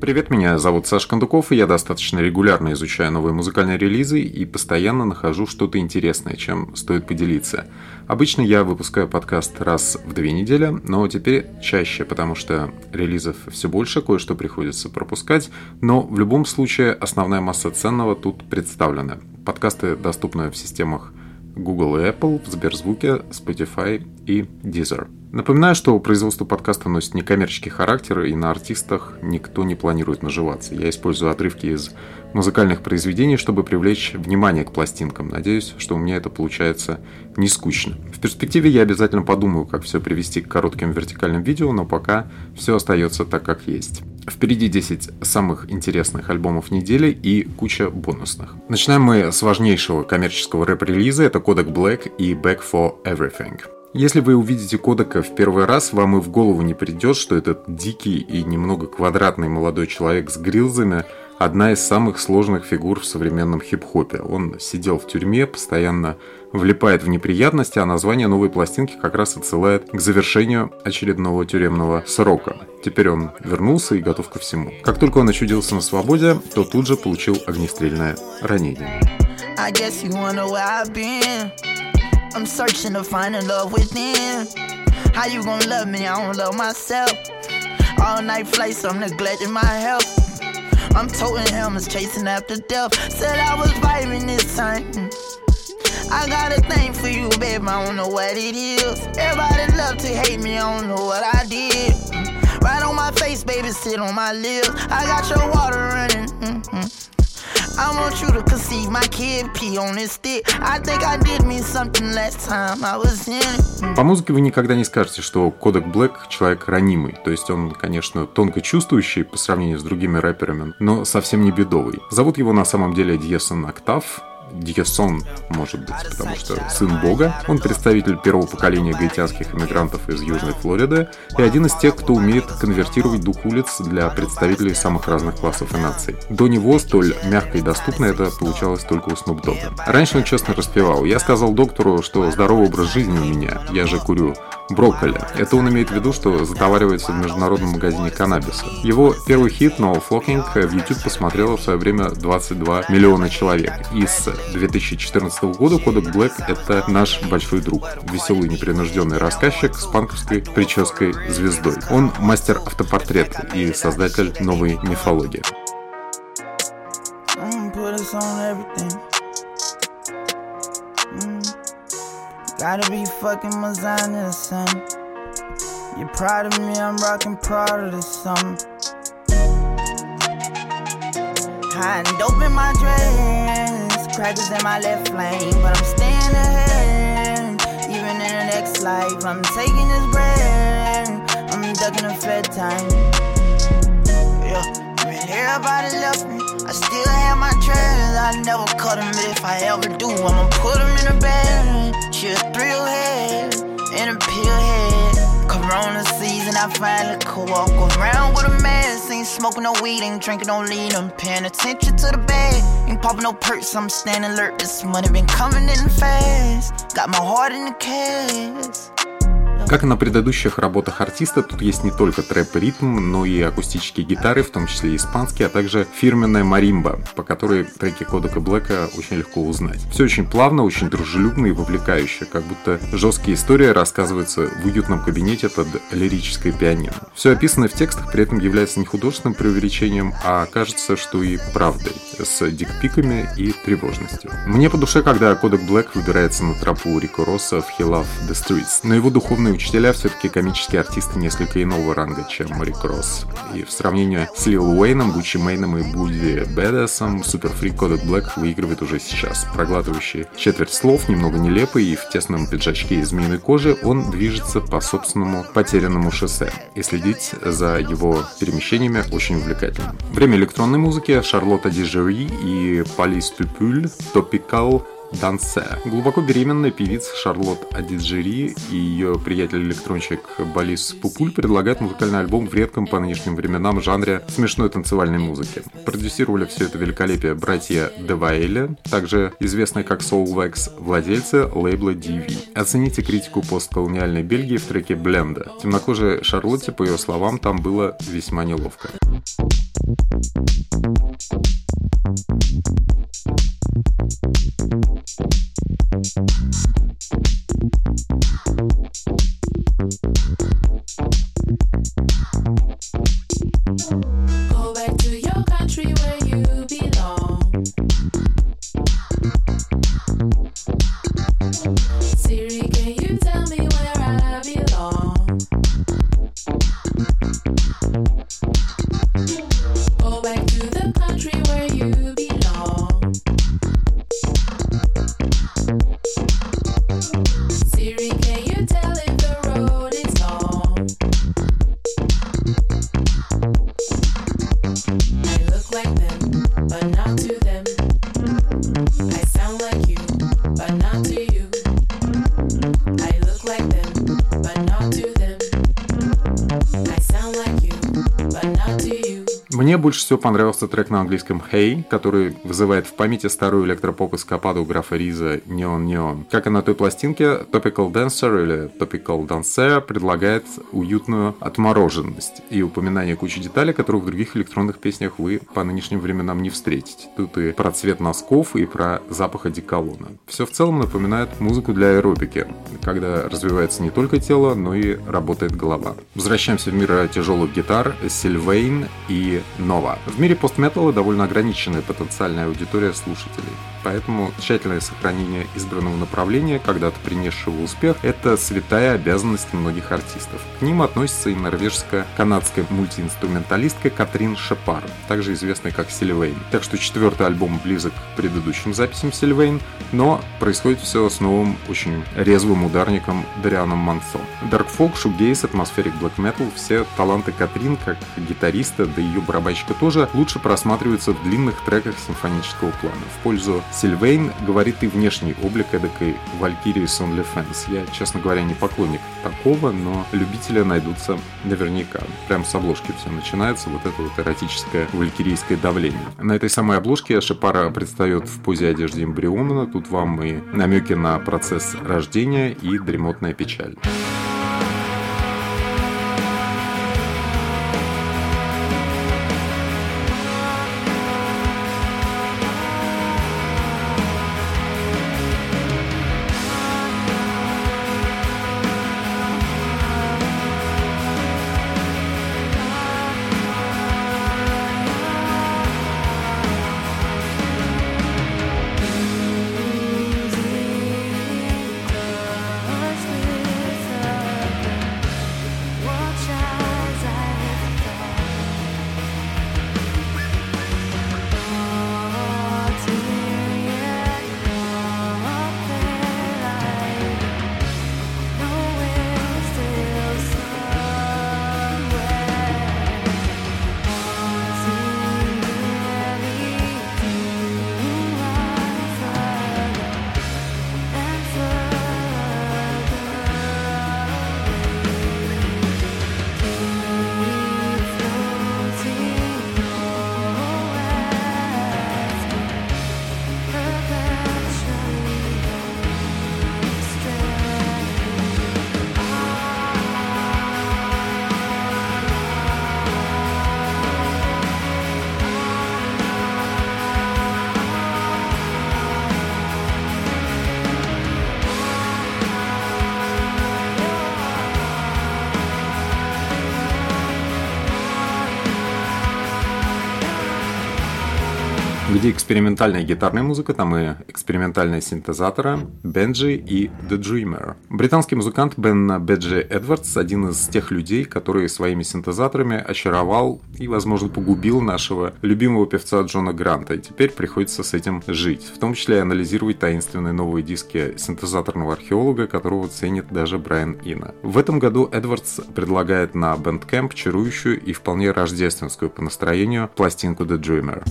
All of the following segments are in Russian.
Привет, меня зовут Саша Кондуков, и я достаточно регулярно изучаю новые музыкальные релизы и постоянно нахожу что-то интересное, чем стоит поделиться. Обычно я выпускаю подкаст раз в 2 недели, но теперь чаще, потому что релизов все больше, кое-что приходится пропускать, но в любом случае основная масса ценного тут представлена. Подкасты доступны в системах Google и Apple, в Сберзвуке, Spotify и Deezer. Напоминаю, что производство подкаста носит некоммерческий характер, и на артистах никто не планирует наживаться. Я использую отрывки из музыкальных произведений, чтобы привлечь внимание к пластинкам. Надеюсь, что у меня это получается не скучно. В перспективе я обязательно подумаю, как все привести к коротким вертикальным видео, но пока все остается так, как есть. Впереди 10 самых интересных альбомов недели и куча бонусных. Начинаем мы с важнейшего коммерческого рэп-релиза. Это Kodak Black и Back for Everything. Если вы увидите Кодака в первый раз, вам и в голову не придет, что этот дикий и немного квадратный молодой человек с грилзами – одна из самых сложных фигур в современном хип-хопе. Он сидел в тюрьме, постоянно влипает в неприятности, а название новой пластинки как раз отсылает к завершению очередного тюремного срока. Теперь он вернулся и готов ко всему. Как только он очутился на свободе, то тут же получил огнестрельное ранение. I'm searching to find a love within. How you gon' love me? I don't love myself. All night flights, I'm neglecting my health. I'm toting helmets, chasing after death. Said I was vibing this time. I got a thing for you, babe, I don't know what it is. Everybody love to hate me, I don't know what I did. Right on my face, baby, sit on my lips. I got your water running. I want you to conceive my kid, pee on this stick. I think I did me something last time I was in it. По музыке вы никогда не скажете, что Kodak Black человек ранимый. То есть он, конечно, тонко чувствующий по сравнению с другими рэперами, но совсем не бедовый. Зовут его на самом деле Дьесон Октав. Дьесон, может быть, потому что сын бога. Он представитель первого поколения гаитянских иммигрантов из Южной Флориды и один из тех, кто умеет конвертировать дух улиц для представителей самых разных классов и наций. До него столь мягко и доступно это получалось только у Snoop Dogg. Раньше он честно распевал: «Я сказал доктору, что здоровый образ жизни у меня, я же курю брокколи». Это он имеет в виду, что затоваривается в международном магазине каннабиса. Его первый хит «No Flocking» в YouTube посмотрело в свое время 22 миллиона человек. И с 2014 года Kodak Black — это наш большой друг. Веселый непринужденный рассказчик с панковской прической звездой. Он мастер автопортрета и создатель новой мифологии. Gotta be fucking Mazana or something. You're proud of me, I'm rocking Prada or something. Hiding dope in my dress, crackers in my left lane, but I'm staying ahead. Even in the next life, I'm taking this bread. I'm ducking the fed time. Yeah, when everybody left me, I still have my treasures. I never cut them, but if I ever do, I'ma put them in a bag. She a thrill head and a pill head. Corona season, I finally could walk around with a mask. Ain't smoking no weed, ain't drinking no lean. I'm paying attention to the bag. Ain't popping no perks, I'm staying alert. This money been coming in fast. Got my heart in the cast. Как и на предыдущих работах артиста, тут есть не только трэп и ритм, но и акустические гитары, в том числе испанские, а также фирменная маримба, по которой треки Kodak Black'а очень легко узнать. Все очень плавно, очень дружелюбно и вовлекающе, как будто жесткие истории рассказываются в уютном кабинете под лирическое пианино. Все описанное в текстах при этом является не художественным преувеличением, а кажется, что и правдой, с дикпиками и тревожностью. Мне по душе, когда Kodak Black выбирается на тропу Рико Росса в He Love the Streets, но его духовные учителя все-таки комические артисты несколько иного ранга, чем Рик Росс. И в сравнении с Лил Уэйном, Гуччи Мэйном и Буди Бэдасом, суперфрик Kodak Black выигрывает уже сейчас. Проглатывающий четверть слов, немного нелепый и в тесном пиджачке из змеиной кожи, он движется по собственному потерянному шоссе. И следить за его перемещениями очень увлекательно. Время электронной музыки: Шарлотта Дижери и Полис Пюпюль, Топикал Дансе. Глубоко беременная певица Шарлотт Адиджери и ее приятель-электронщик Болис Пупуль предлагают музыкальный альбом в редком по нынешним временам жанре смешной танцевальной музыки. Продюсировали все это великолепие братья Девайли, также известные как Soulwax, владельцы лейбла DV. Оцените критику постколониальной Бельгии в треке Бленда. Темнокожей Шарлотте, по ее словам, там было весьма неловко. Go back to your country where you belong. Siri, can you tell me where I belong? Go back to the country where you belong. Siri, can you tell if the road is long? I look like them, but not to them. I sound like you, but not to you. I look like them, but not to them. I sound like you, but not to you. Мне больше всего понравился трек на английском Hey, который вызывает в памяти старую электропоп-эскападу графа Риза Neon Neon. Как и на той пластинке, Topical Dancer или Topical Dancer предлагает уютную отмороженность и упоминание кучи деталей, которых в других электронных песнях вы по нынешним временам не встретите. Тут и про цвет носков, и про запах одеколона. Все в целом напоминает музыку для аэробики, когда развивается не только тело, но и работает голова. Возвращаемся в мир тяжелых гитар, Sylvain и Nova. В мире постметалла довольно ограниченная потенциальная аудитория слушателей, поэтому тщательное сохранение избранного направления, когда-то принесшего успех, это святая обязанность многих артистов. К ним относится и норвежско-канадская мультиинструменталистка Катрин Шепар, также известная как Sylvain. Так что 4-й альбом близок к предыдущим записям Sylvain, но происходит все с новым, очень резвым ударником Дарианом Мансо. Даркфолк, шугейз, атмосферик блэк метал, все таланты Катрин как гитариста, да и ее барабанщика тоже, лучше просматриваются в длинных треках симфонического плана. В пользу Sylvain говорит и внешний облик эдакой Валькирии с OnlyFans. Я, честно говоря, не поклонник такого, но любители найдутся наверняка. Прям с обложки все начинается, вот это вот эротическое валькирийское давление. На этой самой обложке Шепара предстает в позе одежды эмбриона. Тут вам и намеки на процесс рождения и дремотная печаль. Где экспериментальная гитарная музыка, там и экспериментальные синтезаторы Benji и The Dreamer. Британский музыкант Бен Беджи Эдвардс – один из тех людей, которые своими синтезаторами очаровал и, возможно, погубил нашего любимого певца Джона Гранта. И теперь приходится с этим жить, в том числе и анализировать таинственные новые диски синтезаторного археолога, которого ценит даже Брайан Ина. В этом году Эдвардс предлагает на Bandcamp чарующую и вполне рождественскую по настроению пластинку The Dreamer.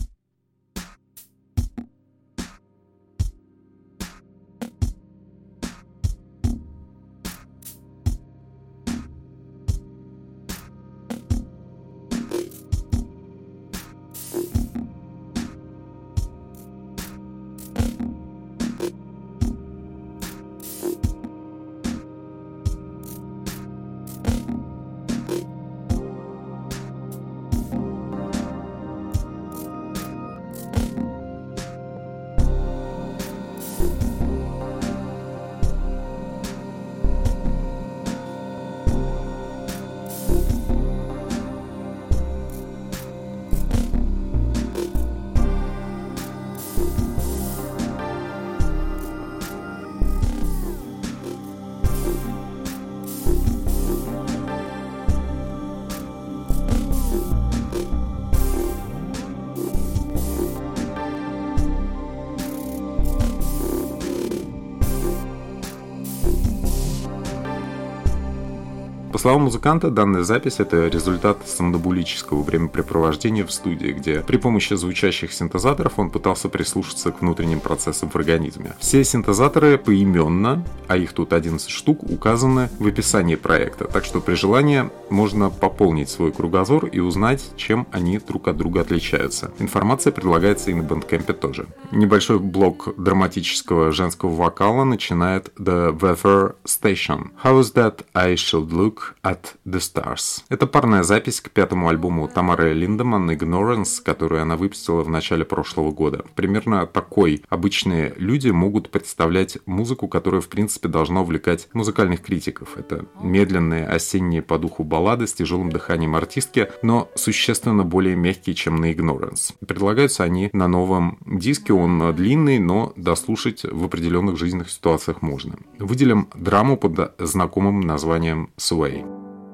словам музыканта, данная запись – это результат сомнамбулического времяпрепровождения в студии, где при помощи звучащих синтезаторов он пытался прислушаться к внутренним процессам в организме. Все синтезаторы поименно, а их тут 11 штук, указаны в описании проекта, так что при желании можно пополнить свой кругозор и узнать, чем они друг от друга отличаются. Информация предлагается и на Bandcamp тоже. Небольшой блок драматического женского вокала начинает The Weather Station. How is that I should look at the stars? Это парная запись к 5-му альбому Тамары Линдеман Ignorance, который она выпустила в начале прошлого года. Примерно такой обычные люди могут представлять музыку, которая в принципе должна увлекать музыкальных критиков. Это медленные осенние по духу баллады с тяжелым дыханием артистки, но существенно более мягкие, чем на Ignorance. Предлагаются они на новом диске, он длинный, но дослушать в определенных жизненных ситуациях можно. Выделим драму под знакомым названием Sway.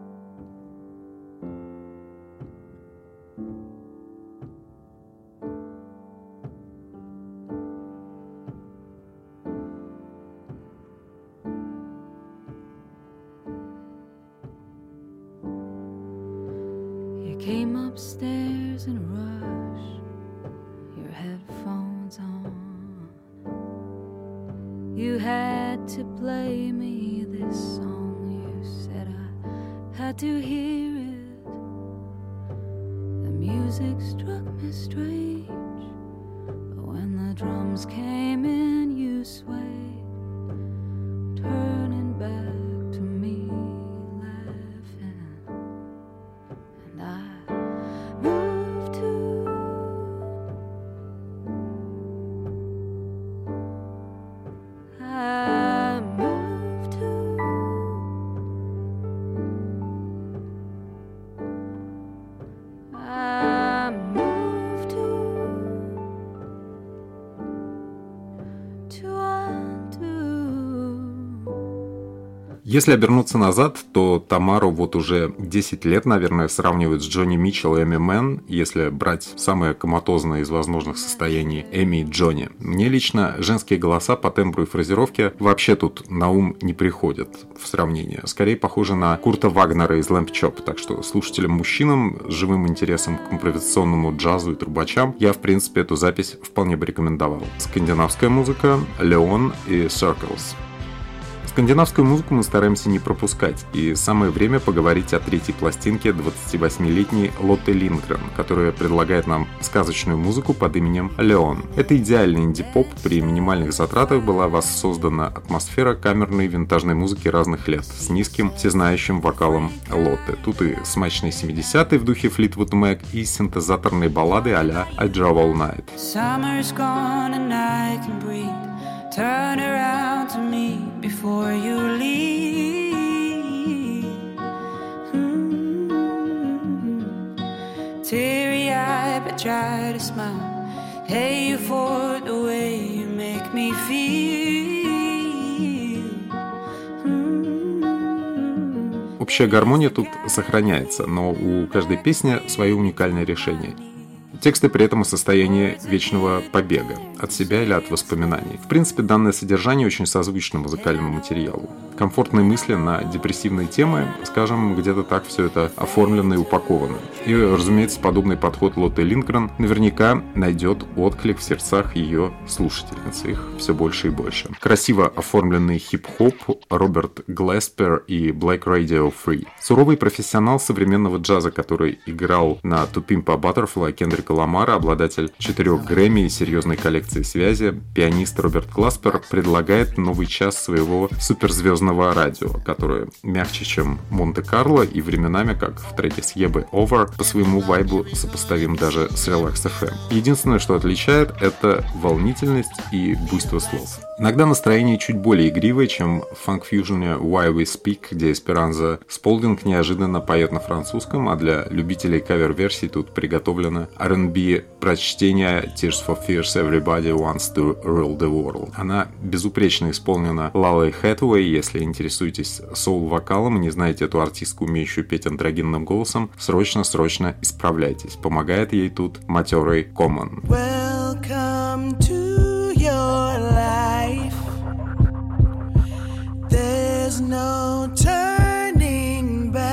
Came upstairs in a rush, your headphones on. You had to play me this song, you said I had to hear it. The music struck me strange, but when the drums came in, you swayed, turning back to me, laughing, and I moved to Если обернуться назад, то Тамару вот уже 10 лет, наверное, сравнивают с Джонни Митчелл и Эми Мэн, если брать самое коматозное из возможных состояний Эми и Джонни. Мне лично женские голоса по тембру и фразировке вообще тут на ум не приходят в сравнении. Скорее похожи на Курта Вагнера из Lamp Chop, так что слушателям-мужчинам с живым интересом к импровизационному джазу и трубачам я, в принципе, эту запись вполне бы рекомендовал. Скандинавская музыка, Leon и Circles. Скандинавскую музыку мы стараемся не пропускать, и самое время поговорить о третьей пластинке 28-летней Лотте Линдгрен, которая предлагает нам сказочную музыку под именем Leon. Это идеальный инди-поп, при минимальных затратах была воссоздана атмосфера камерной винтажной музыки разных лет, с низким всезнающим вокалом Лотте. Тут и смачные 70-е в духе Fleetwood Mac, и синтезаторные баллады а-ля I Drove All Night. Summer's gone and I can breathe. Turn around to me before you leave. Teary-eyed but try to smile. Hey, you for the way you make me feel. Общая гармония тут сохраняется, но у каждой песни свое уникальное решение. Тексты при этом о состоянии вечного побега от себя или от воспоминаний. В принципе, данное содержание очень созвучно музыкальному материалу. Комфортные мысли на депрессивные темы, скажем, где-то так все это оформлено и упаковано. И, разумеется, подобный подход Лотте Линдгрен наверняка найдет отклик в сердцах ее слушательниц. Их все больше и больше. Красиво оформленный хип-хоп Роберт Глеспер и Black Radio Free. Суровый профессионал современного джаза, который играл на To Pimp a Butterfly Кендрика Ламара, обладатель 4 Грэмми и серьезной коллекции связи, пианист Роберт Глеспер предлагает новый час своего суперзвездного радио, которое мягче, чем Монте-Карло, и временами, как в треке с Ебы Over, по своему вайбу сопоставим даже с Relax FM. Единственное, что отличает, это волнительность и буйство слов. Иногда настроение чуть более игривое, чем в фанк-фьюжне Why We Speak, где Эсперанза Сполдинг неожиданно поет на французском, а для любителей кавер-версий тут приготовлено R&B прочтение Tears for Fears Everybody Wants to Rule the World. Она безупречно исполнена Лалой Хэтэуэй. Если интересуетесь соул-вокалом и не знаете эту артистку, умеющую петь андрогинным голосом, срочно исправляйтесь. Помогает ей тут матерый Common. Welcome to your life. There's no turning back.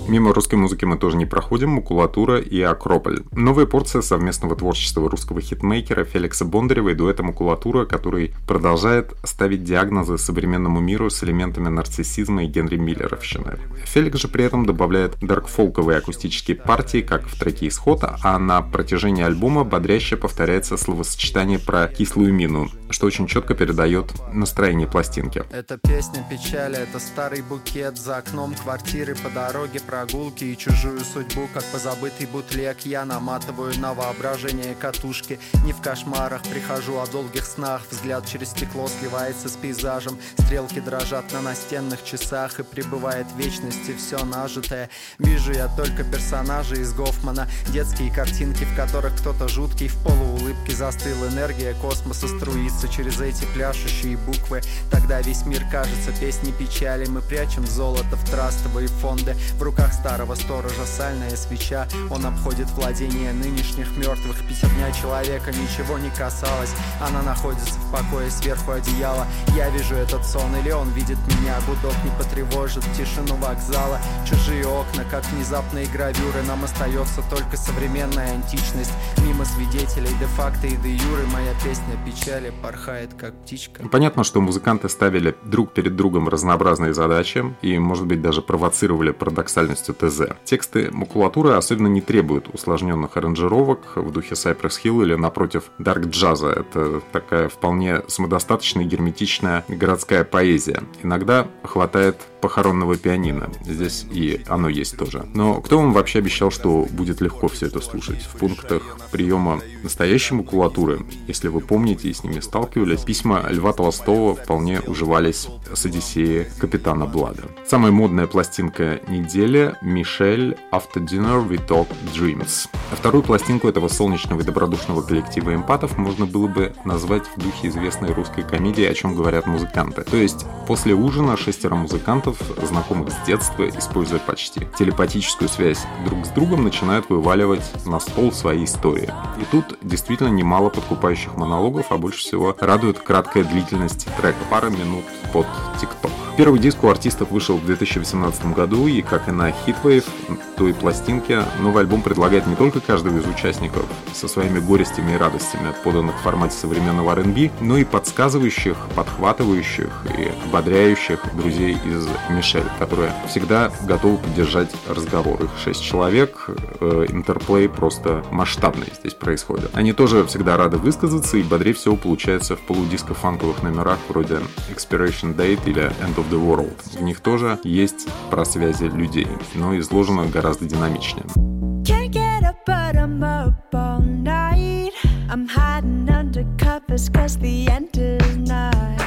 Мимо русской музыки мы тоже не проходим, Макулатура и Акрополь. Новая порция совместного творчества русского хитмейкера Феликса Бондарева и дуэта Макулатура, который продолжает ставить диагнозы современному миру с элементами нарциссизма и Генри Миллеровщины. Феликс же при этом добавляет даркфолковые акустические партии, как в треке «Исход», а на протяжении альбома бодряще повторяется словосочетание про кислую мину, что очень четко передает настроение пластинки. Это песня печали, это старый букет за окном квартиры, по дороге прогулки и чужую судьбу, как позабытый бутлег. Я наматываю на воображение катушки. Не в кошмарах прихожу, о долгих снах. Взгляд через стекло сливается с пейзажем. Стрелки дрожат на настенных часах, и прибывает в вечности все нажитое. Вижу я только персонажей из Гофмана, детские картинки, в которых кто-то жуткий в полуулыбке застыл. Энергия космоса струится через эти пляшущие буквы. Тогда весь мир кажется песней печали. Мы прячем золото в трастовые фонды. В руках старого сторожа сальная свеча. Он обходит владение нынешних мертвых. Пятерня человека ничего не касалось. Она находится в покое сверху одеяла. Я вижу этот сон, или он видит меня. Гудок не потревожит тишину вокзала. Чужие окна, как внезапные гравюры. Нам остается только современная античность. Мимо свидетелей де-факто и де-юры. Моя песня печали порхает, как птичка. Понятно, что музыканты ставили друг перед другом разнообразные задачи и, может быть, даже провоцировали парадоксальностью ТЗ. Тексты Макулатуры особенно не требуют усложненных аранжировок в духе Cypress Hill или, напротив, дарк-джаза. Это такая вполне самодостаточная и герметичная городская поэзия. Иногда хватает похоронного пианино. Здесь и оно есть тоже. Но кто вам вообще обещал, что будет легко все это слушать? В пунктах приема настоящей макулатуры, если вы помните и с ними сталкивались, письма Льва Толстого вполне уживались с Одиссеей капитана Блада. Самая модная пластинка недели — Мишель «After Dinner We Talk Dreams». А вторую пластинку этого солнечного и добродушного коллектива эмпатов можно было бы назвать в духе известной русской комедии «О чем говорят музыканты». То есть после ужина 6 музыкантов, знакомых с детства, используя почти телепатическую связь друг с другом, начинают вываливать на стол свои истории. И тут действительно немало подкупающих монологов, а больше всего радует краткая длительность трека — пара минут под TikTok. Первый диск у артистов вышел в 2018 году, и, как и на Heatwave, той пластинке, новый альбом предлагает не только каждого из участников со своими горестями и радостями, поданных в формате современного R&B, но и подсказывающих, подхватывающих и ободряющих друзей из Мишель, которые всегда готовы поддержать разговор. Их 6 человек, интерплей просто масштабный здесь происходит. Они тоже всегда рады высказаться, и бодрее всего получается в полудиско-фанковых номерах вроде Expiration Date или End of the World. В них тоже есть про связи людей, но изложено гораздо динамичнее. Can't get up, but I'm up all night. I'm hiding under covers 'cause the end is nigh.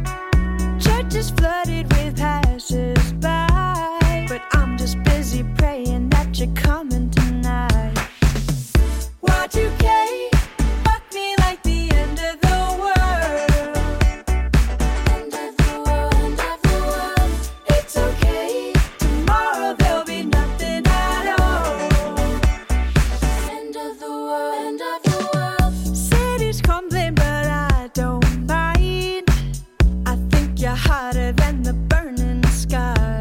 Church is flooded with passers-by, but I'm just busy praying that you're coming tonight. Y2K, fuck me like the end of the world. End of the world, end of the world. It's okay, tomorrow there'll be nothing at all. End of the world, end of the world. City's crumbling, but I don't mind. I think you're hotter than the burning sky.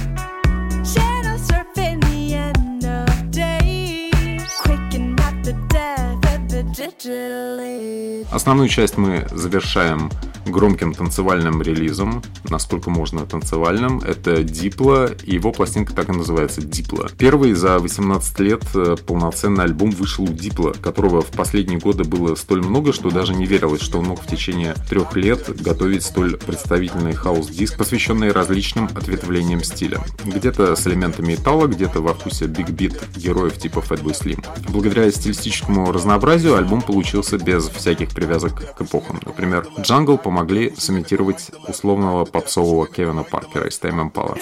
Shadow surfing the end of days, quaking at the death of the digital age. Основную часть мы завершаем громким танцевальным релизом, насколько можно танцевальным. Это Дипло, и его пластинка так и называется — Дипло. Первый за 18 лет полноценный альбом вышел у Дипло, которого в последние годы было столь много, что даже не верилось, что он мог в течение 3 лет готовить столь представительный хаус-диск, посвященный различным ответвлениям стиля. Где-то с элементами металла, где-то во вкусе биг-бит героев типа Fatboy Slim. Благодаря стилистическому разнообразию альбом получился без всяких привязок к эпохам. Например, Jungle помогли сымитировать условного попсового Кевина Паркера из Tame Impala.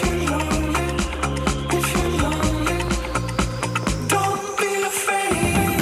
Don't be afraid.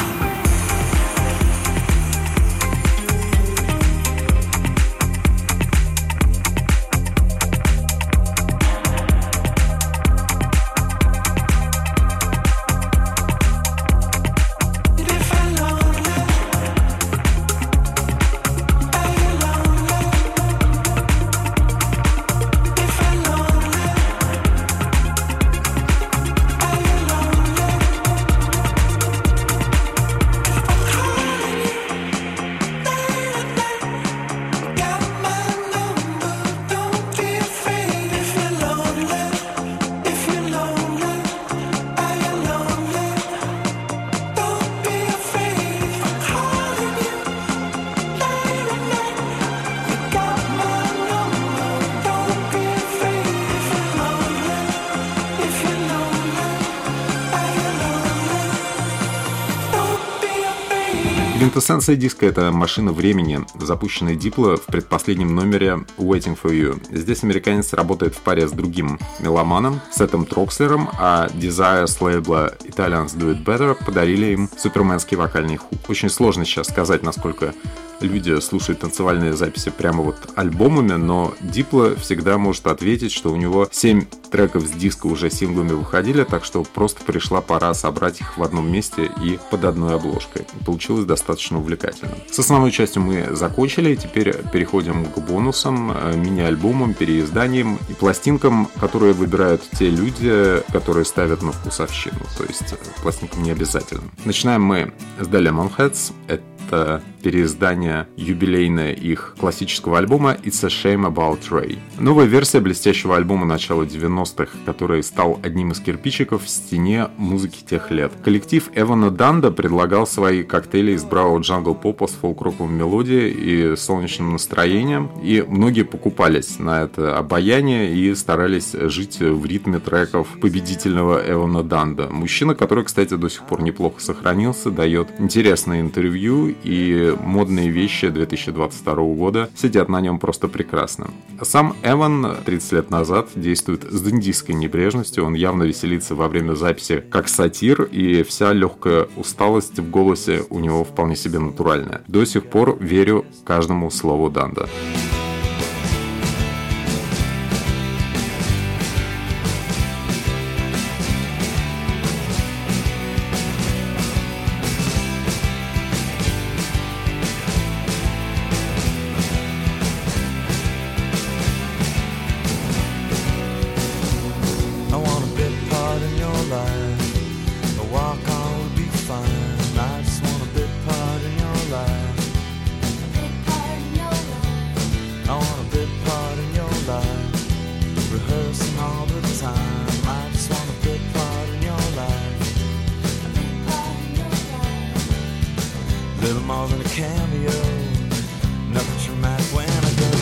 Квинтэссенция диска — это машина времени, запущенная Дипло в предпоследнем номере Waiting for You. Здесь американец работает в паре с другим меломаном, Сетом Трокслером, а Desire с лейбла Italians Do It Better подарили им суперменский вокальный хук. Очень сложно сейчас сказать, насколько люди слушают танцевальные записи прямо вот альбомами, но Дипло всегда может ответить, что у него 7 треков с диска уже синглами выходили, так что просто пришла пора собрать их в одном месте и под одной обложкой. Получилось достаточно увлекательно. С основной частью мы закончили, теперь переходим к бонусам, мини-альбомам, переизданиям и пластинкам, которые выбирают те люди, которые ставят на вкусовщину, то есть пластинкам не обязательно. Начинаем мы с The Lemonheads. Это переиздание юбилейное их классического альбома It's a Shame About Ray. Новая версия блестящего альбома начала 90-х, который стал одним из кирпичиков в стене музыки тех лет. Коллектив Эвана Данда предлагал свои коктейли из бравого джангл-попа с фолк-роковой мелодией и солнечным настроением, и многие покупались на это обаяние и старались жить в ритме треков победительного Эвана Данда. Мужчина, который, кстати, до сих пор неплохо сохранился, дает интересные интервью, и модные вещи 2022 года сидят на нем просто прекрасно. Сам Эван 30 лет назад действует с дендистской небрежностью, он явно веселится во время записи как сатир, и вся легкая усталость в голосе у него вполне себе натуральная. До сих пор верю каждому слову Данда. Little more than a cameo, nothing dramatic when I go.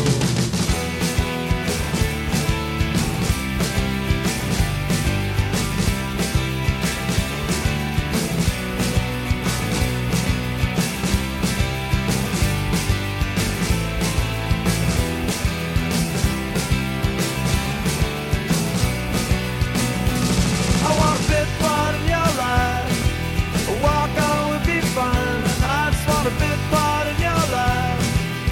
I want a bit part in your life, a walk on would be fun. I just want a bit part in your life.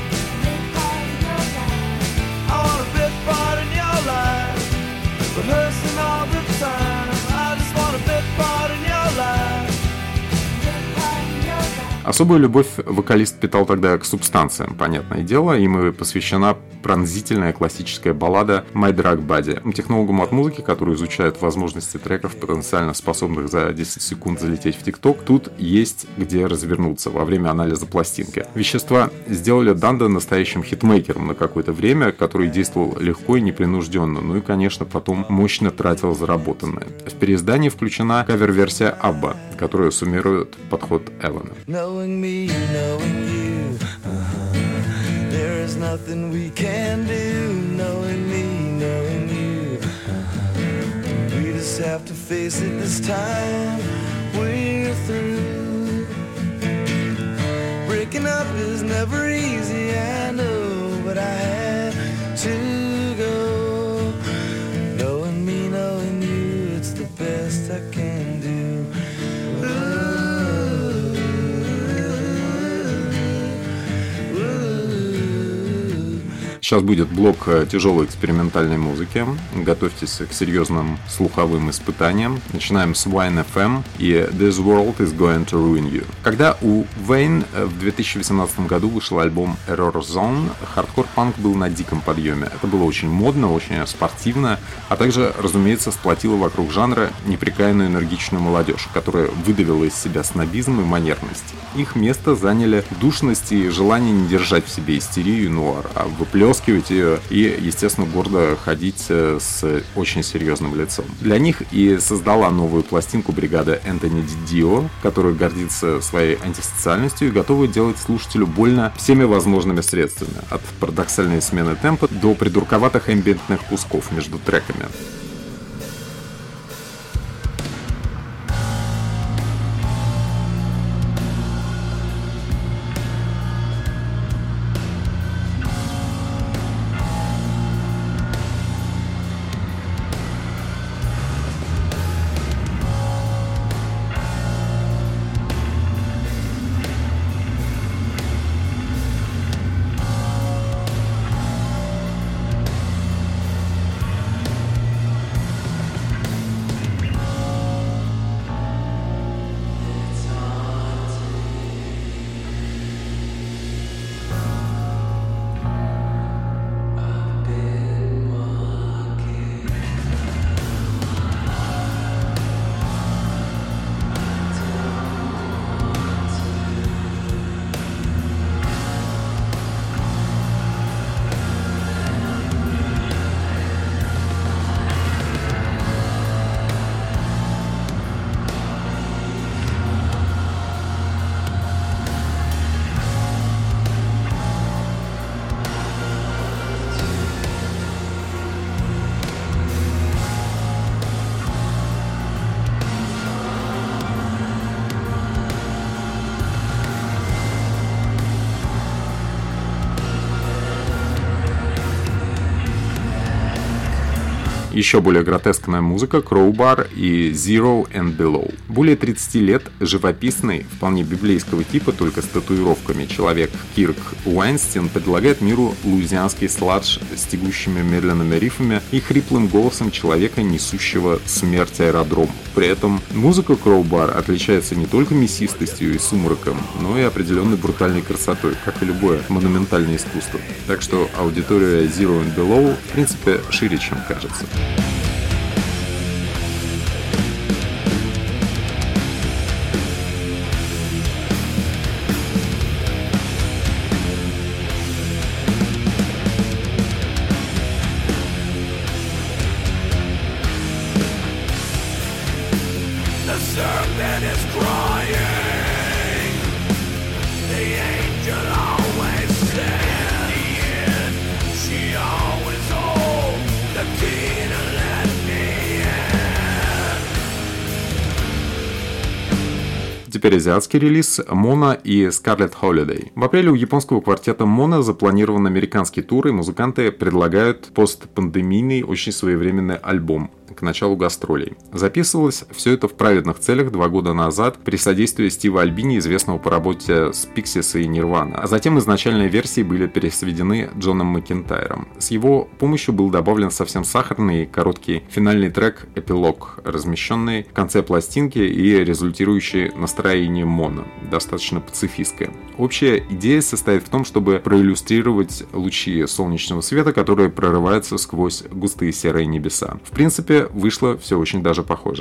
I want a bit part in your life, rehearsing all the time. I just want a bit part in your life. Особую любовь вокалист питал тогда к субстанциям, понятное дело, им и посвящена пронзительная классическая баллада My Drug Buddy. Технологам от музыки, которые изучают возможности треков, потенциально способных за 10 секунд залететь в ТикТок, тут есть где развернуться во время анализа пластинки. Вещества сделали Данда настоящим хитмейкером на какое-то время, который действовал легко и непринужденно, ну и, конечно, потом мощно тратил заработанное. В переиздании включена кавер-версия Абба, которая суммирует подход Эвана. Knowing me, knowing you, there is nothing we can do. Knowing me, knowing you, we just have to face it this time. We're through. Breaking up is never easy, I know, but I had to go. Knowing me, knowing you, it's the best I can do. Сейчас будет блок тяжелой экспериментальной музыки. Готовьтесь к серьезным слуховым испытаниям. Начинаем с Wine FM и This World is Going to Ruin You. Когда у Wayne в 2018 году вышел альбом Error Zone, хардкор-панк был на диком подъеме. Это было очень модно, очень спортивно, а также, разумеется, сплотило вокруг жанра непрекаянную энергичную молодежь, которая выдавила из себя снобизм и манерность. Их место заняли душность и желание не держать в себе истерию и нуар, а выплескивать ее и, естественно, гордо ходить с очень серьезным лицом. Для них и создала новую пластинку бригада Энтони Дио, которая гордится своей антисоциальностью и готова делать слушателю больно всеми возможными средствами, от парадоксальной смены темпа до придурковатых эмбиентных кусков между треками. Еще более гротескная музыка Crowbar и Zero and Below. Более 30 лет живописный, вполне библейского типа, только с татуировками, человек Кирк Уайнстин предлагает миру луизианский сладж с тягущими медленными рифами и хриплым голосом человека, несущего смерть аэродрому. При этом музыка Crowbar отличается не только мясистостью и сумраком, но и определенной брутальной красотой, как и любое монументальное искусство. Так что аудитория Zero and Below в принципе шире, чем кажется. Теперь азиатский релиз Mona и Scarlet Holiday. В апреле у японского квартета Mona запланирован американский тур, и музыканты предлагают постпандемийный, очень своевременный альбом к началу гастролей. Записывалось все это в праведных целях 2 года назад при содействии Стива Альбини, известного по работе с Pixies и Nirvana. А затем изначальные версии были пересведены Джоном Макентайром. С его помощью был добавлен совсем сахарный короткий финальный трек «Эпилог», размещенный в конце пластинки и результирующий настроением Моно, достаточно пацифистское. Общая идея состоит в том, чтобы проиллюстрировать лучи солнечного света, которые прорываются сквозь густые серые небеса. В принципе, вышло все очень даже похоже.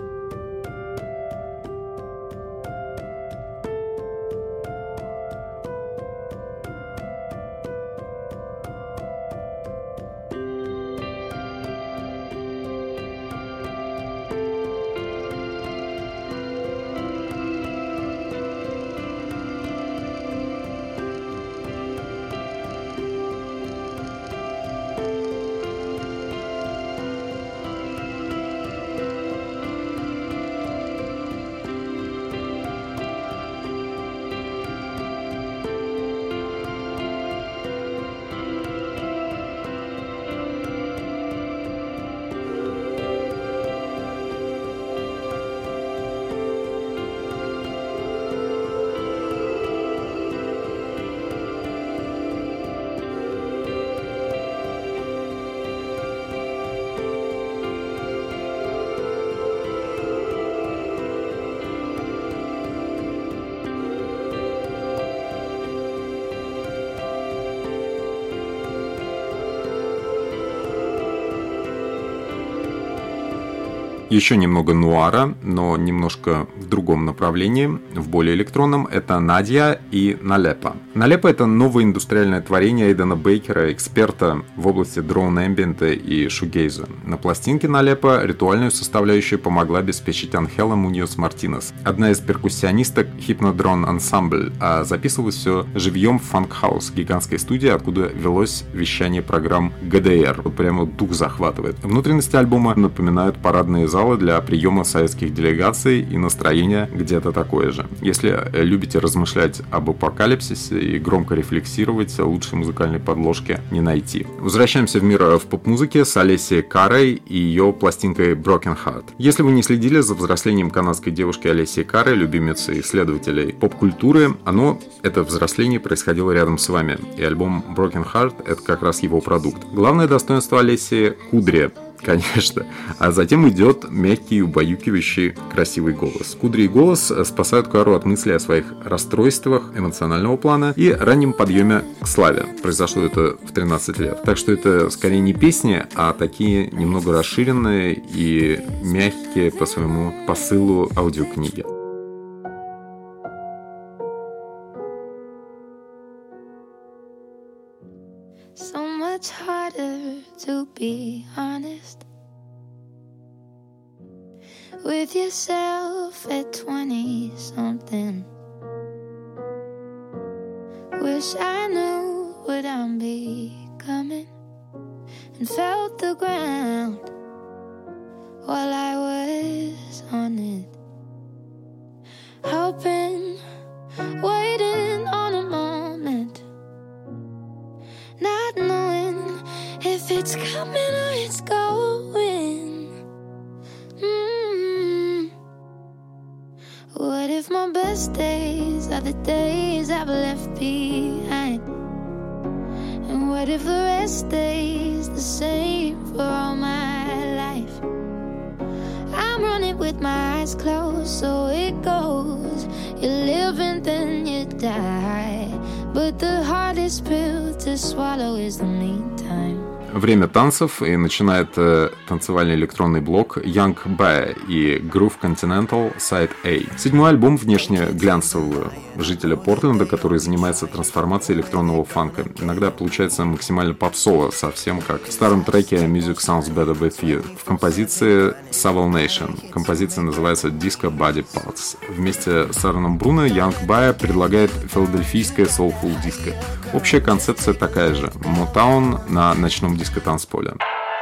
Еще немного нуара, но немножко в другом направлении, в более электронном. Это Надя и Налепа. Налепа — это новое индустриальное творение Эйдена Бейкера, эксперта в области дрон-эмбиента и шугейза. На пластинке Налепа ритуальную составляющую помогла обеспечить Анхела Муньос Мартинес, одна из перкуссионисток Hypnodrone Ensemble, а записывалось все живьем в Funk House, гигантской студии, откуда велось вещание программ ГДР. Вот прямо дух захватывает. Внутренности альбома напоминают парадные залы для приема советских делегаций, и настроение где-то такое же. Если любите размышлять об апокалипсисе и громко рефлексировать, лучшей музыкальной подложки не найти. Возвращаемся в мир в поп-музыке с Алессией Карой и ее пластинкой Broken Heart. Если вы не следили за взрослением канадской девушки Алессии Кары, любимицы исследователей поп-культуры, это взросление происходило рядом с вами, и альбом Broken Heart — это как раз его продукт. Главное достоинство Алессии — кудри, конечно. А затем идет мягкий, убаюкивающий, красивый голос. Кудри и голос спасают Кару от мыслей о своих расстройствах эмоционального плана и раннем подъеме к славе. Произошло это в 13 лет. Так что это скорее не песни, а такие немного расширенные и мягкие по своему посылу аудиокниги. So much harder to be honest with yourself at 20-something. Wish I knew what I'm becoming and felt the ground while I was on it. Hoping, waiting on a moment, not knowing if it's coming or it's going. memories I've left behind. And what if the rest stays the same for all my life? I'm running with my eyes closed, so it goes. You live and then you die, but the hardest pill to swallow is the meantime. Время танцев, и начинает танцевальный электронный блок Young Bae и Groove Continental Side A. Седьмой альбом внешне глянцевого жителя Портленда, который занимается трансформацией электронного фанка. Иногда получается максимально попсово, совсем как в старом треке Music Sounds Better With You в композиции Savile Nation. Композиция называется Disco Body Parts. Вместе с Аароном Бруно Young Bae предлагает филадельфийское soulful диско. Общая концепция такая же. Motown на ночном диско-танцполе.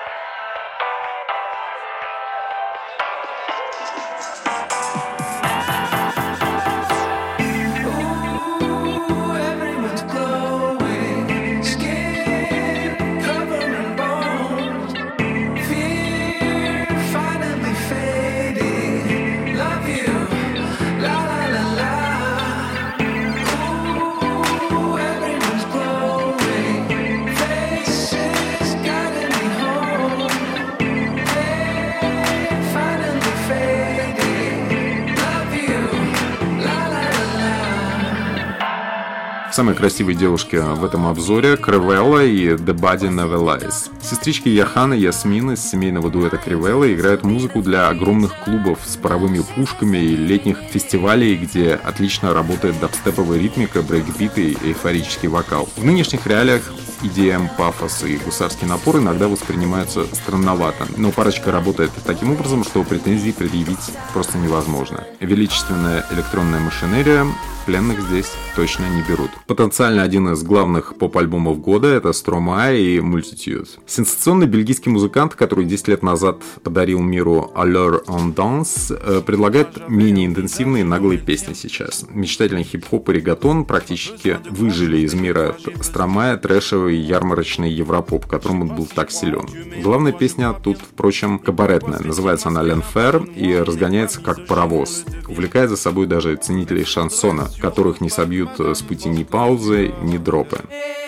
Самые красивые девушки в этом обзоре — Кривелла и The Body Never Lies. Сестрички Яхан и Ясмин из семейного дуэта Кривелла играют музыку для огромных клубов с паровыми пушками и летних фестивалей, где отлично работает дабстеповая ритмика, брейкбиты и эйфорический вокал. В нынешних реалиях EDM, пафос и гусарский напор иногда воспринимаются странновато, но парочка работает таким образом, что претензий предъявить просто невозможно. Величественная электронная машинерия пленных здесь точно не берут. Потенциально один из главных поп-альбомов года — это Stromae и Multitude. Сенсационный бельгийский музыкант, который 10 лет назад подарил миру Allure on Dance, предлагает менее интенсивные наглые песни сейчас. Мечтательный хип-хоп и регатон практически выжили из мира Stromae трэшевый ярмарочный европоп, которым он был так силен. Главная песня тут, впрочем, кабаретная. Называется она «L'Enfer» и разгоняется как паровоз. Увлекает за собой даже ценителей шансона, которых не собьют с пути ни паузы, ни дропы.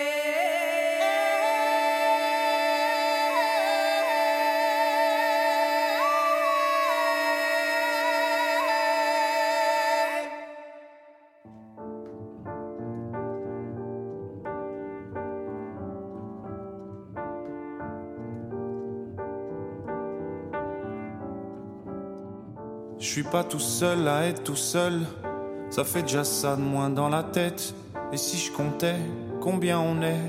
Je suis pas tout seul à être tout seul, ça fait déjà ça de moins dans la tête. Et si je comptais combien on est?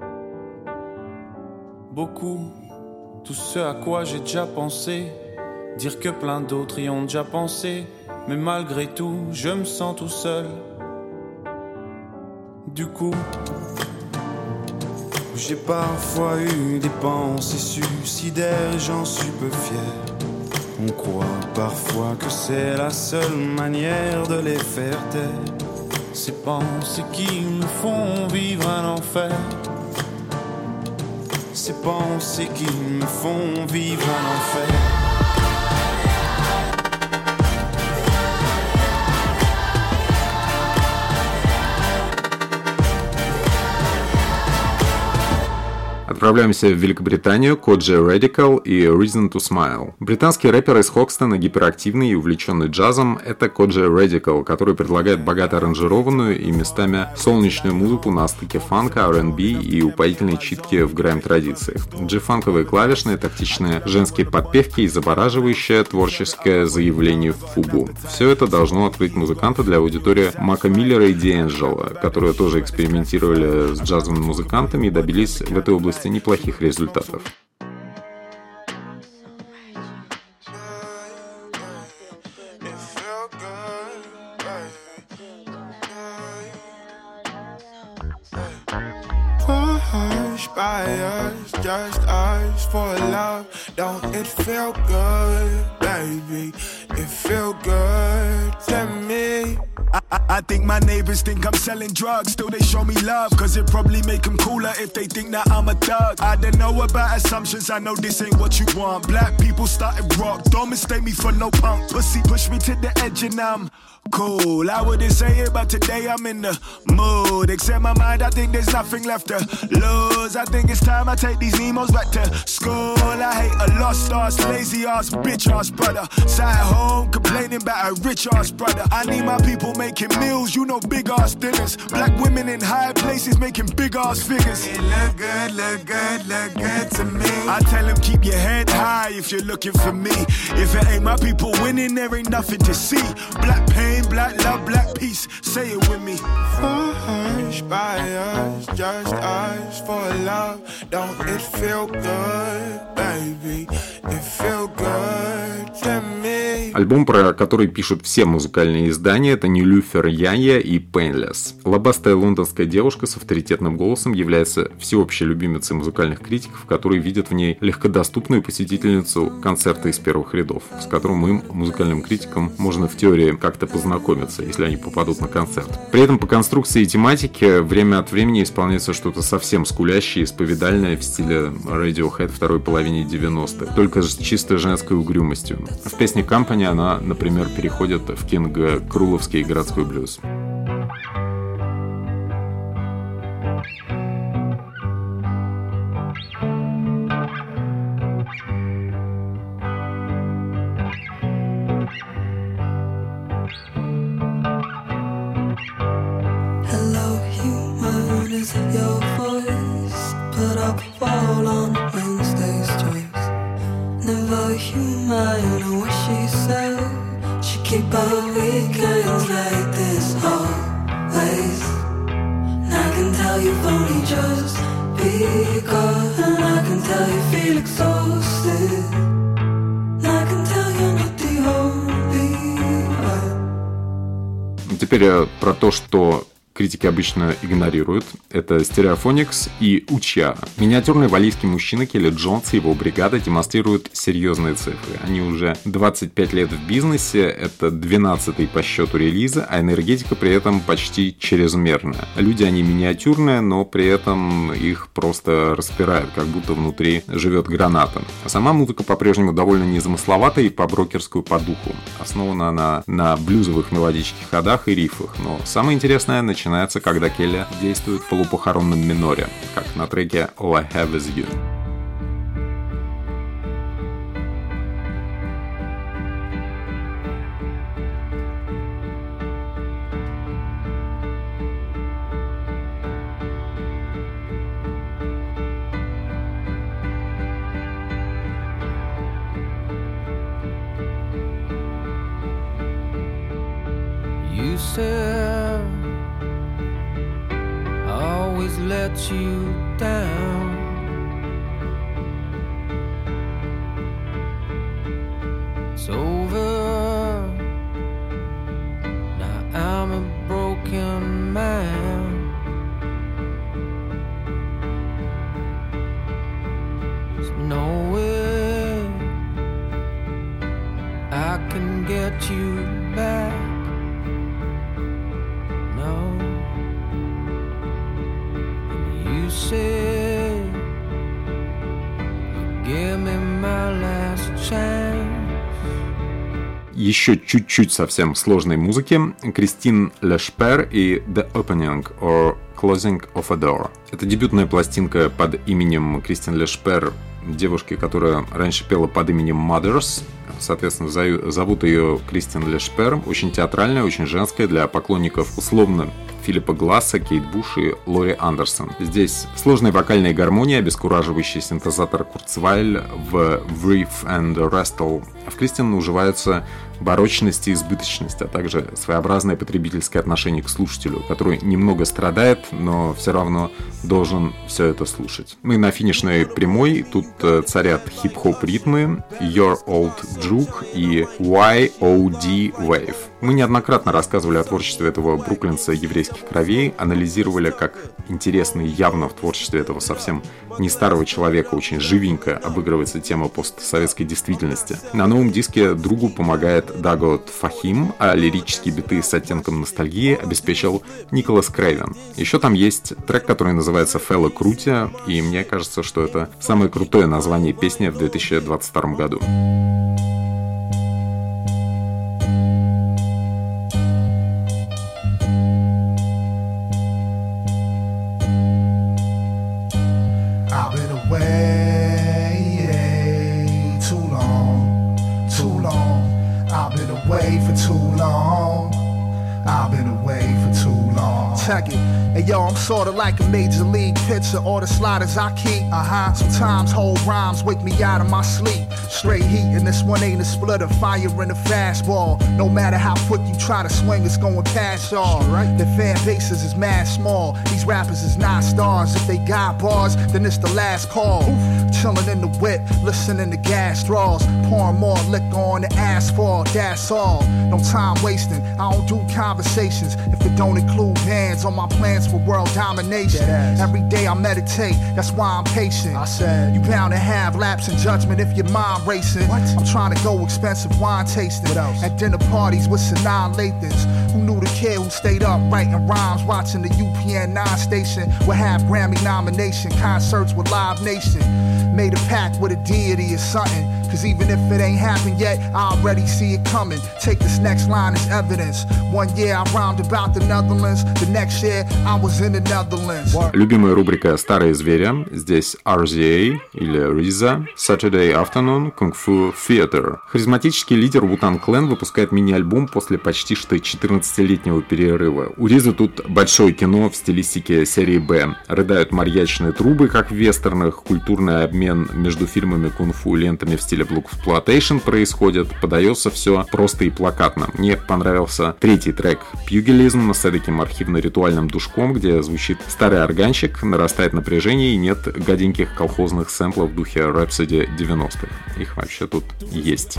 Beaucoup, tout ce à quoi j'ai déjà pensé, dire que plein d'autres y ont déjà pensé, mais malgré tout, je me sens tout seul. Du coup, j'ai parfois eu des pensées suicidaires et j'en suis peu fier. On croit parfois que c'est la seule manière de les faire taire. Ces pensées qui me font vivre un enfer. Ces pensées qui me font vivre un enfer. Отправляемся в Великобританию, Kojey Radical и Reason to Smile. Британский рэпер из Хокстона, гиперактивный и увлеченный джазом, это Kojey Radical, который предлагает богато аранжированную и местами солнечную музыку на стыке фанка, R&B и упоительной читки в грайм-традициях. Джи-фанковые клавишные, тактичные женские подпевки и завораживающее творческое заявление в фугу. Все это должно открыть музыканта для аудитории Мака Миллера и D'Angelo, которые тоже экспериментировали с джазовыми музыкантами и добились в этой области неплохих результатов. Just us for love, don't it feel good, baby? It feel good to me. I think my neighbors think I'm selling drugs, still they show me love, cause it probably make them cooler if they think that I'm a thug. I don't know about assumptions, I know this ain't what you want. Black people started rock, don't mistake me for no punk. Pussy push me to the edge and I'm cool. I wouldn't say it, but today I'm in the mood. Except my mind, I think there's nothing left to lose. I think it's time I take these Nemos back to school. I hate a lost ass, lazy ass, bitch ass brother. Sat at home complaining about a rich ass brother. I need my people making meals, you know, big ass dinners. Black women in high places making big ass figures. It look good, look good, look good to me. I tell them keep your head high if you're looking for me. If it ain't my people winning, there ain't nothing to see. Black pain, black love, black peace. Say it with me. Hush by us, just us for love. Don't it feel good, baby? It feel good to me. Альбом, про который пишут все музыкальные издания, это Нилюфер Яя и Painless. Лобастая лондонская девушка с авторитетным голосом является всеобщей любимицей музыкальных критиков, которые видят в ней легкодоступную посетительницу концерта из первых рядов, с которым им, музыкальным критикам, можно в теории как-то познакомиться, если они попадут на концерт. При этом по конструкции и тематике время от времени исполняется что-то совсем скулящее и исповедальное в стиле Radiohead второй половине 90-х, только с чисто женской угрюмостью. В песне Company она, например, переходит в Кинга Круловский городской блюз. Hello, human, is it your voice? Put up a wall on Wednesday's choice. Never human, I wish she said she keep her weekends like this always. And I can tell you've only just begun, and I can tell you feel exhausted. And I can tell you're not the only one. Теперь про то, что критики обычно игнорируют. Это Stereophonics и Уча. Миниатюрный валийский мужчина Келли Джонс и его бригада демонстрируют серьезные цифры. Они уже 25 лет в бизнесе, это 12-й по счету релиза, а энергетика при этом почти чрезмерная. Люди они миниатюрные, но при этом их просто распирают, как будто внутри живет граната. А сама музыка по-прежнему довольно незамысловатая и по-брокерскую по духу. Основана она на блюзовых мелодических ходах и рифах. Но самое интересное начинается, когда Келли действует в полупохоронном миноре, как на треке All I Have Is You. You said I always let you down. It's over. Now I'm a broken man. There's no way I can get you back. You say you give me my last chance. Еще чуть-чуть совсем сложной музыки. Кристин Лешпер и The Opening or Closing of a Door. Это дебютная пластинка под именем Кристин Лешпер, девушки, которая раньше пела под именем Mothers. Соответственно, зовут ее Кристин Лешпер. Очень театральная, очень женская, для поклонников условно Филиппа Гласса, Кейт Буш и Лори Андерсон. Здесь сложная вокальная гармония, обескураживающий синтезатор Курцвайль в Riff and Restle. В Кристин уживаются барочность и избыточность, а также своеобразное потребительское отношение к слушателю, который немного страдает, но все равно должен все это слушать. Мы на финишной прямой, тут царят хип-хоп ритмы, Your Old Juke и YOD Wave. Мы неоднократно рассказывали о творчестве этого бруклинца еврейских кровей, анализировали, как интересно и явно в творчестве этого совсем не старого человека очень живенько обыгрывается тема постсоветской действительности. На новом диске другу помогает Дагот Фахим, а лирические биты с оттенком ностальгии обеспечил Николас Крейвен. Еще там есть трек, который называется Фелла Крути, и мне кажется, что это самое крутое название песни в 2022 году. check it. Hey yo, I'm sorta like a major league pitcher. All the sliders I keep, sometimes whole rhymes wake me out of my sleep. Straight heat, and this one ain't a splitter. Fire in a fastball. No matter how quick you try to swing, it's going past y'all. Right? The fan bases is mad small. These rappers is not stars. If they got bars, then it's the last call. Chillin' in the whip, listening to gas straws. Pouring more liquor on the asphalt, that's all. No time wasting, I don't do conversations if it don't include bands on my plans for world domination. Every day I meditate, that's why I'm patient. I said, you bound to have lapse in judgment if your mind racing. What? I'm trying to go expensive wine tasting at dinner parties with Sanaa Lathans. Who knew the kid who stayed up writing rhymes, watching the UPN 9 station with half Grammy nomination, concerts with Live Nation. Made a pact with a deity or something, cause even if it ain't happened yet, I already see it coming. Take this next line as evidence. One year I rhymed about the Netherlands, the next year I was in the Netherlands. Любимая рубрика «Старые звери». Здесь RZA или RZA, Saturday Afternoon Kung Fu Theater. Харизматический лидер Wu-Tang Clan выпускает мини-альбом после почти что 14-летнего перерыва. У RZA тут большое кино в стилистике серии «Б». Рыдают марьячные трубы, как в вестернах, культурный обмен между фильмами кунг-фу и лентами в стиле Blaxploitation происходит. Подается все просто и плакатно. Мне понравился третий трек «Pugilism» с таким архивно-ритуальным душком, где звучит старый органчик, нарастает напряжение и нет гаденьких колхозных сэмплов в духе Rhapsody 90-х. Их вообще тут есть.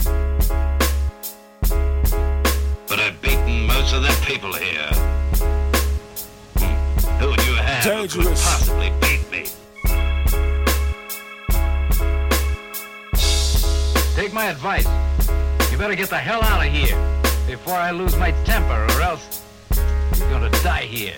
Take my advice. You better get the hell out of here before I lose my temper, or else you're gonna die here.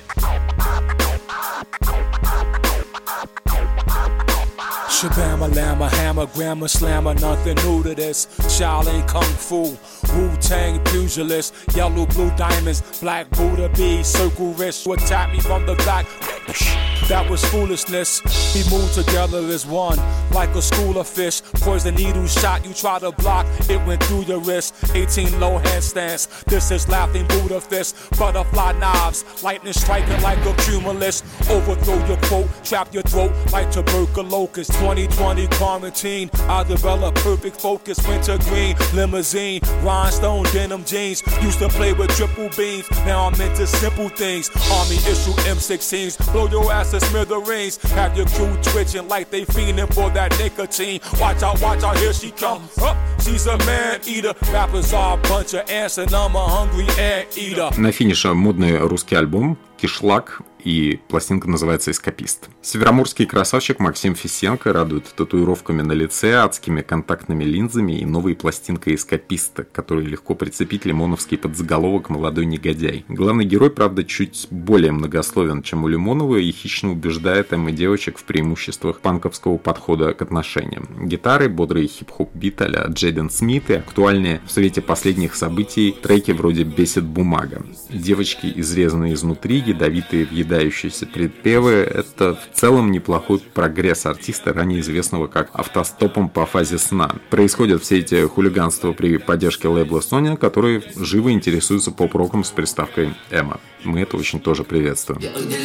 Shabama, llama, hammer, grammar, slammer, nothing new to this. Shaolin Kung Fu, Wu-Tang pugilist, yellow, blue diamonds, black Buddha bees, circle wrist, who attacked me from the back. That was foolishness. We moved together as one, like a school of fish. Poison needle shot, you try to block, it went through your wrist. 18 low handstands, this is laughing Buddha fist. Butterfly knives, lightning striking like a cumulus. Overthrow your quote, trap your throat like tuberculosis. 2020 quarantine, I developed perfect focus. Winter green, limousine, rhinestone denim jeans. Used to play with triple beams, now I'm into simple things. Army issue M16s, blow your ass to smithereens. Have your crew twitching like they fiending for that nicotine. Watch out, here she come. She's a man eater. Rappers are a bunch of ants and I'm a hungry ant eater. На финише модный русский альбом «Кишлак», и пластинка называется «Эскапист». Североморский красавчик Максим Фисенко радует татуировками на лице, адскими контактными линзами и новой пластинкой «Эскаписта», которую легко прицепить лимоновский подзаголовок «Молодой негодяй». Главный герой, правда, чуть более многословен, чем у Лимонова, и хищно убеждает Эм и девочек в преимуществах панковского подхода к отношениям. Гитары, бодрый хип-хоп бит а-ля Джейден Смит и актуальные в свете последних событий треки вроде «Бесит бумага». Девочки, изрезанные изнутри, ядовитые въедающиеся припевы — это в целом неплохой прогресс артиста, ранее известного как «Автостопом по фазе сна». Происходят все эти хулиганства при поддержке лейбла Sony, который живо интересуется поп-роком с приставкой «Эма». Мы это очень тоже приветствуем.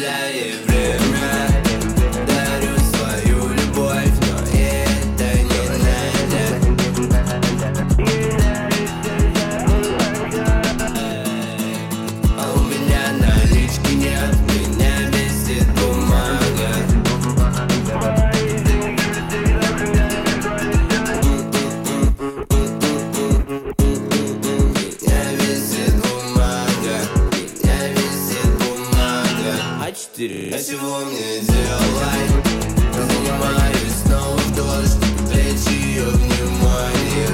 А всего мне делать? Занимаюсь снова в дождь, привлечь ее внимание.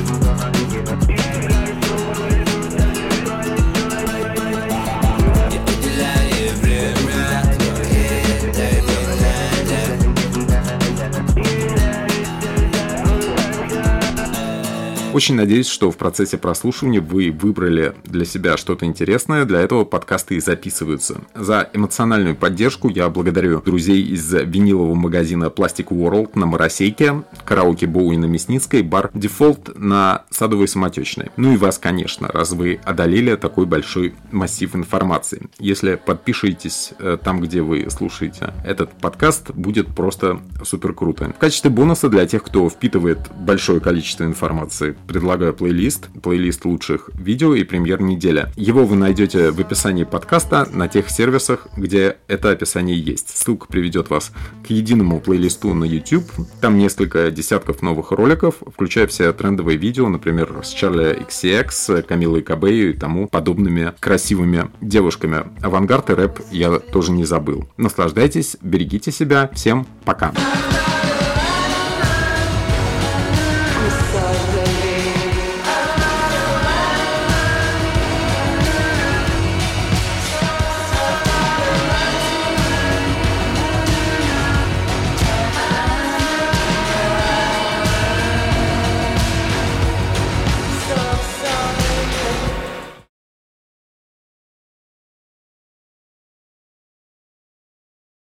Я уделяю время, но это не надо. Очень надеюсь, что в процессе прослушивания вы выбрали для себя что-то интересное. Для этого подкасты и записываются. За эмоциональную поддержку я благодарю друзей из винилового магазина Plastic World на Моросейке, караоке Боуи на Мясницкой, бар Default на Садовой Самотечной. Ну и вас, конечно, раз вы одолели такой большой массив информации. Если подпишитесь там, где вы слушаете этот подкаст, будет просто супер круто. В качестве бонуса для тех, кто впитывает большое количество информации, предлагаю плейлист лучших видео и премьер недели. Его вы найдете в описании подкаста на тех сервисах, где это описание есть. Ссылка приведет вас к единому плейлисту на YouTube. Там несколько десятков новых роликов, включая все трендовые видео, например, с Charli XCX, Камилой Кабею и тому подобными красивыми девушками. Авангард и рэп я тоже не забыл. Наслаждайтесь, берегите себя. Всем пока.